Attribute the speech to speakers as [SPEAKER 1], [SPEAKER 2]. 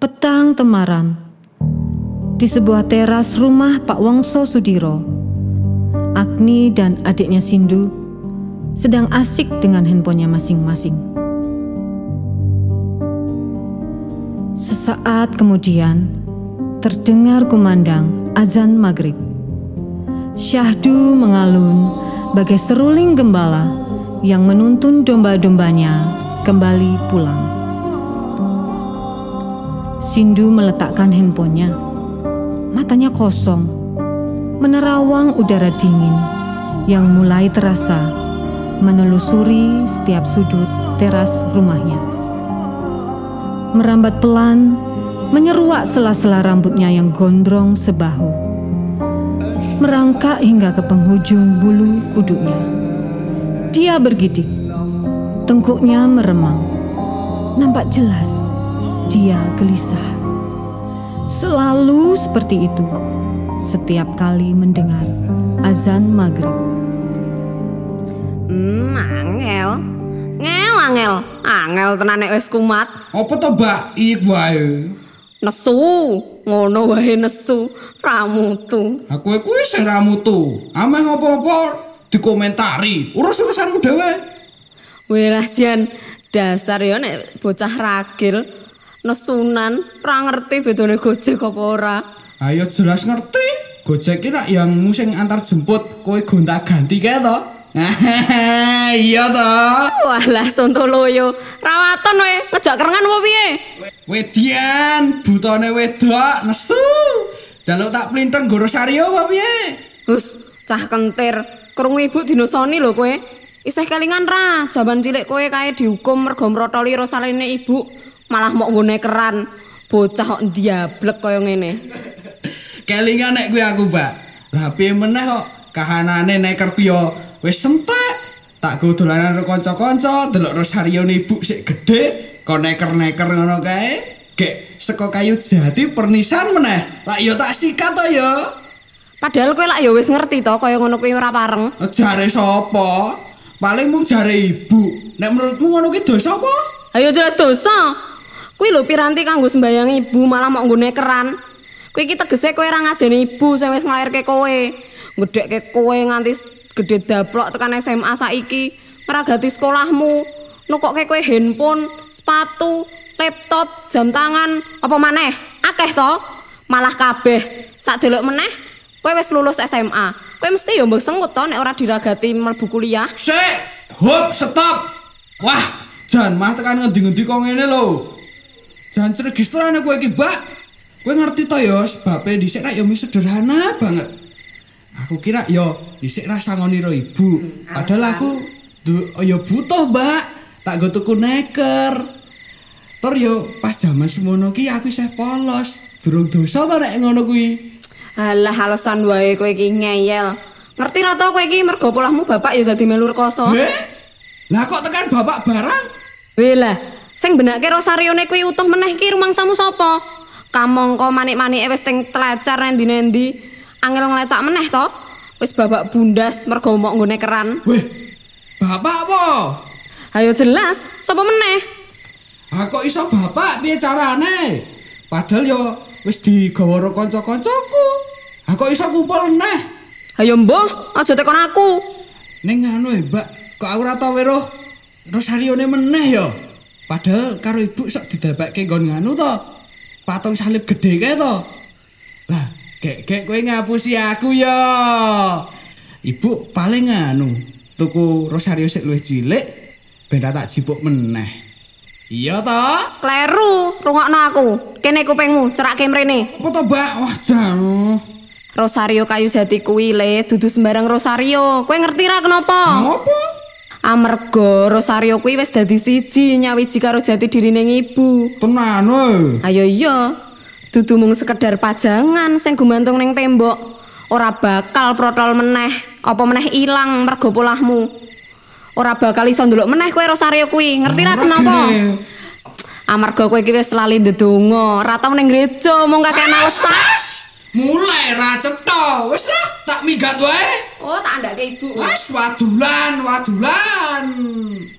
[SPEAKER 1] Petang temaram. Di sebuah teras rumah Pak Wongso Sudiro, Agni dan adiknya Sindu sedang asik dengan handphonenya masing-masing. Sesaat kemudian terdengar kumandang azan maghrib. Syahdu mengalun bagai seruling gembala yang menuntun domba-dombanya kembali pulang. Sindu meletakkan handphonenya. Matanya kosong, menerawang udara dingin yang mulai terasa menelusuri setiap sudut teras rumahnya. Merambat pelan, menyeruak sela-sela rambutnya yang gondrong sebahu. Merangkak hingga ke penghujung bulu kuduknya. Dia bergidik, tengkuknya meremang. Nampak jelas dia gelisah. Selalu seperti itu setiap kali mendengar azan maghrib.
[SPEAKER 2] Angel tenan nek wis kumat.
[SPEAKER 3] Apa to, Mbak? Ik wae.
[SPEAKER 2] Nesu, ngono wae nesu, ramutu.
[SPEAKER 3] Aku kuwi sing ramutu. Ameh ngopo-opo dikomentari. Urus-urusanmu dhewe.
[SPEAKER 2] Welah Jan, dasar ya nek bocah ragil nesunan, ra ngerti bedane Gojek apa ora.
[SPEAKER 3] Ayo jelas ngerti. Gojek ki nak yang musing antar jemput, kowe gonta-ganti kae to. Iya to.
[SPEAKER 2] Walah sontoloyo, rawatan we, ngejak kerengan apa piye?
[SPEAKER 3] Wedian, butone wedok nesu. Jaluk tak plinteng goro Sario apa piye?
[SPEAKER 2] Hus, cah kentir, krungu ibu dinosoni lho kowe. Isih kelingan ra, jaman cilik kowe kae dihukum mergo mrotoli rosaline ibu. Malah mau nggone keran, bocah kok ndiablek kaya ngene.
[SPEAKER 3] Kelingan nek kuwi aku, Mbak. Lah piye meneh kok kahanane neker piye wis entek. Tak go dolanan karo kanca-kanca, delok Rosarione ibu sik gedhe, kok neker-neker ngono kae. Gek saka kayu jati pernisan meneh. Lah ya tak sikat to ya.
[SPEAKER 2] Padahal kowe lak ya wis ngerti to kaya ngono kuwi ora pareng.
[SPEAKER 3] Jare sapa? Paling mung jare ibu. Nek menurutmu ngono ki dosa apa?
[SPEAKER 2] Ayo jelas dosa. Kuwi lho piranti kanggo sembayang ibu malah mau nggone keran. Kuwi iki tegese kowe ora ngajeni ibu sing wis nglairke kowe. Gedhekke kowe nganti gedhe daplok tekan SMA saiki, ngragati sekolahmu, nukokke kowe handphone, sepatu, laptop, jam tangan, apa maneh? Akeh to? Malah kabeh. Sak delok meneh kowe wis lulus SMA. Kowe mesti ya mbok sengut to nek ora diragati mlebu kuliah.
[SPEAKER 3] Sik, hop, stop. Wah, jan mah tekan ngendi-ngendi kok ngene lho. Jan registrane kowe iki, Mbak. Kowe ngerti to ya sebabe dhisik rak ya mung sederhana banget. Aku kira ya dhisik rasa ngoniro ibu. Padahal aku ya butuh, Mbak. Tak go tuku neker. Tur yo pas jaman semono ki aku isih polos. Durung dosa to nek ngono kuwi.
[SPEAKER 2] Alah alasan wae kowe iki ngeyel. Ngerti ra to kowe iki mergo polahmu bapak ya dadi melu rekoso.
[SPEAKER 3] Lah kok tekan bapak barang?
[SPEAKER 2] Lah, sing benake Rosarione kuwi utuh meneh iki rumangsamu sapa? Kamangka manik-manike wis teng telacar endi-endi. Angel nglecak meneh to. Wis babak bundas mergo mok nggone keran.
[SPEAKER 3] Weh, bapak apa?
[SPEAKER 2] Ayo jelas, sapa meneh?
[SPEAKER 3] Ah kok iso bapak piye carane? Padahal yo wis digawa karo kanca-kancaku. Ah kok iso kumpul meneh?
[SPEAKER 2] Ayo mbah, aja tekon aku.
[SPEAKER 3] Ning anu Mbak, kok aku ora tau weruh Rosarione meneh ya. Padahal karo ibu sok didabakke nggon nganu to. Patung salib gedhe kae to. Lah, gek kowe ngapusi aku ya. Ibu paling anu, tuku Rosario sik luwih cilik ben tak jipuk meneh. Iya to?
[SPEAKER 2] Kleru, rungokno aku. Kene kupingmu, cerake mrene.
[SPEAKER 3] Apa to, Mbak? Wah, jan.
[SPEAKER 2] Rosario kayu jati kuwi le dudu sembarang Rosario. Kowe ngerti ra kenapa?
[SPEAKER 3] Ngopo?
[SPEAKER 2] Amarga Rosario kuwi wis dadi siji nyawiji karo jati dirine ibu.
[SPEAKER 3] Tenan e.
[SPEAKER 2] Ayo iya. Dudu mung sekedar pajangan sing gumantung ning tembok. Ora bakal protol meneh, apa meneh ilang mergo polahmu. Ora bakal iso ndelok meneh kowe Rosario kuwi. Ngerti ra kenapa? Amarga kowe iki wis lali ndedonga, ra tau ning gereja mung kakek alasan.
[SPEAKER 3] Mulai ra cetha. Wis lah, tak minggat wae.
[SPEAKER 2] Oh, tak andake ibu.
[SPEAKER 3] Wes wadulan.